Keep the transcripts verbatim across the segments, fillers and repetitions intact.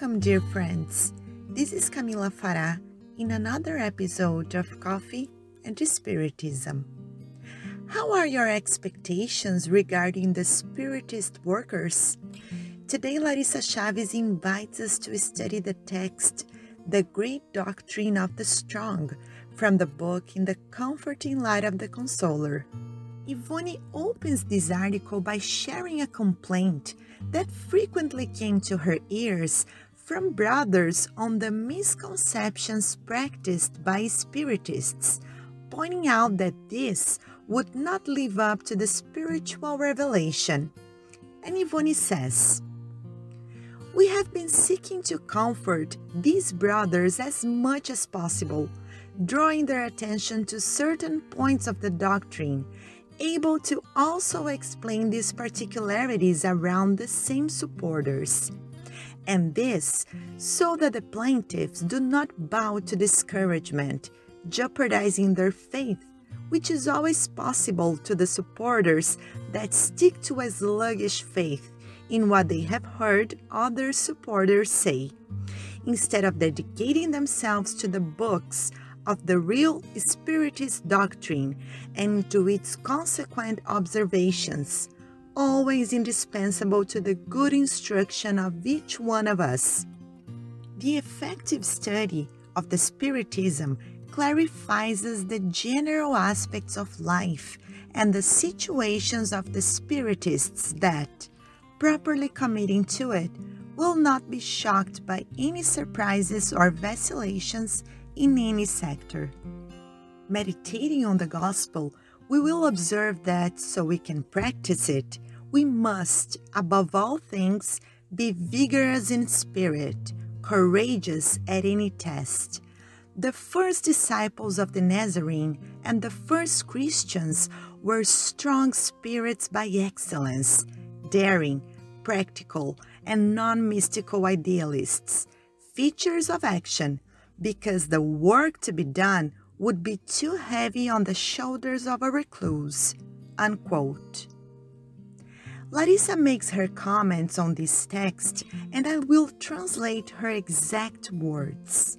Welcome, dear friends. This is Camila Farah in another episode of Coffee and Spiritism. How are your expectations regarding the Spiritist workers? Today, Larissa Chavez invites us to study the text, The Great Doctrine of the Strong, from the book In the Comforting Light of the Consoler. Yvonne opens this article by sharing a complaint that frequently came to her ears from brothers on the misconceptions practiced by Spiritists, pointing out that this would not live up to the spiritual revelation. And Yvonne says, "We have been seeking to comfort these brothers as much as possible, drawing their attention to certain points of the doctrine, able to also explain these particularities around the same supporters. And this so that the plaintiffs do not bow to discouragement, jeopardizing their faith, which is always possible to the supporters that stick to a sluggish faith in what they have heard other supporters say, instead of dedicating themselves to the books of the real Spiritist doctrine and to its consequent observations, always indispensable to the good instruction of each one of us. The effective study of the Spiritism clarifies us the general aspects of life and the situations of the Spiritists that, properly committing to it, will not be shocked by any surprises or vacillations in any sector. Meditating on the gospel, we will observe that so we can practice it, we must, above all things, be vigorous in spirit, courageous at any test. The first disciples of the Nazarene and the first Christians were strong spirits by excellence, daring, practical, and non-mystical idealists, features of action, because the work to be done would be too heavy on the shoulders of a recluse." Unquote. Larissa makes her comments on this text, and I will translate her exact words.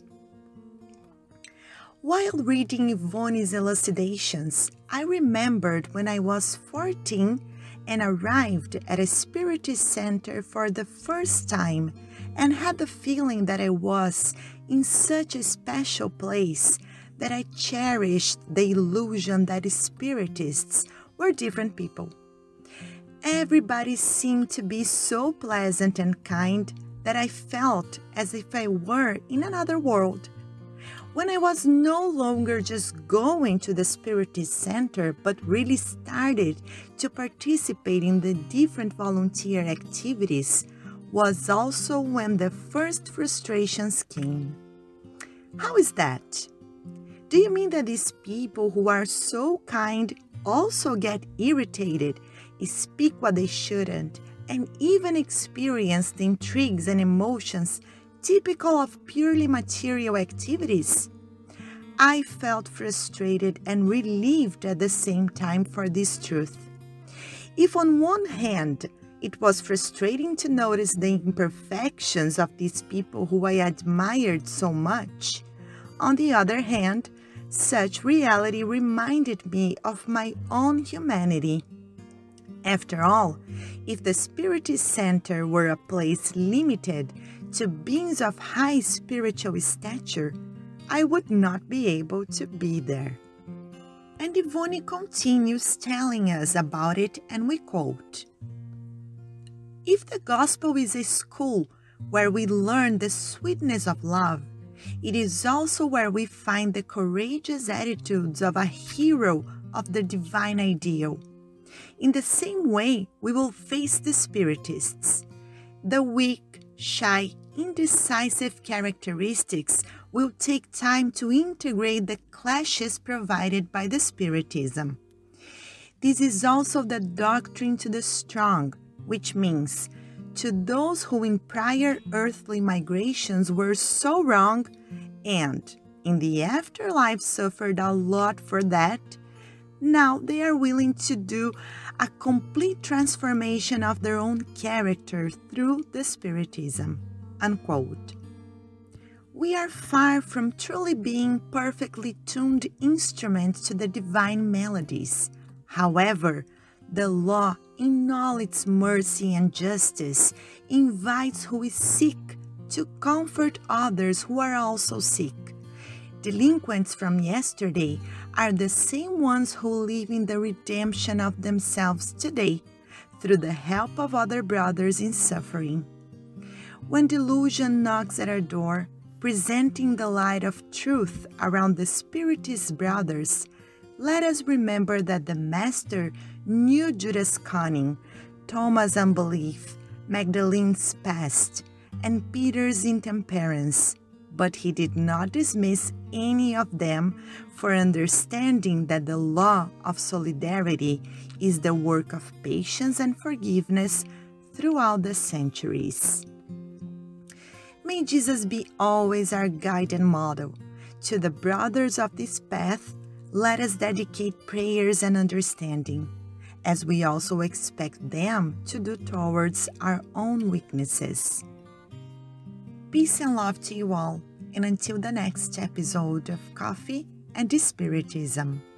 While reading Yvonne's elucidations, I remembered when I was fourteen and arrived at a Spiritist center for the first time and had the feeling that I was in such a special place that I cherished the illusion that Spiritists were different people. Everybody seemed to be so pleasant and kind that I felt as if I were in another world. When I was no longer just going to the Spiritist Center, but really started to participate in the different volunteer activities, was also when the first frustrations came. How is that? Do you mean that these people who are so kind also get irritated, speak what they shouldn't, and even experience the intrigues and emotions typical of purely material activities? I felt frustrated and relieved at the same time for this truth. If on one hand, it was frustrating to notice the imperfections of these people who I admired so much, on the other hand, such reality reminded me of my own humanity. After all, if the Spiritist Center were a place limited to beings of high spiritual stature, I would not be able to be there." And Yvonne continues telling us about it, and we quote, "If the gospel is a school where we learn the sweetness of love, it is also where we find the courageous attitudes of a hero of the divine ideal. In the same way, we will face the Spiritists. The weak, shy, indecisive characteristics will take time to integrate the clashes provided by the Spiritism. This is also the doctrine to the strong, which means to those who in prior earthly migrations were so wrong and in the afterlife suffered a lot for that, now they are willing to do a complete transformation of their own character through the Spiritism." unquote. We are far from truly being perfectly tuned instruments to the divine melodies. However, the law, in all its mercy and justice, invites who is sick to comfort others who are also sick. Delinquents from yesterday are the same ones who live in the redemption of themselves today through the help of other brothers in suffering. When delusion knocks at our door, presenting the light of truth around the Spiritist brothers, let us remember that the Master knew Judas' cunning, Thomas' unbelief, Magdalene's past, and Peter's intemperance, but he did not dismiss any of them for understanding that the law of solidarity is the work of patience and forgiveness throughout the centuries. May Jesus be always our guide and model. To the brothers of this path, let us dedicate prayers and understanding, as we also expect them to do towards our own weaknesses. Peace and love to you all, and until the next episode of Coffee and Spiritism.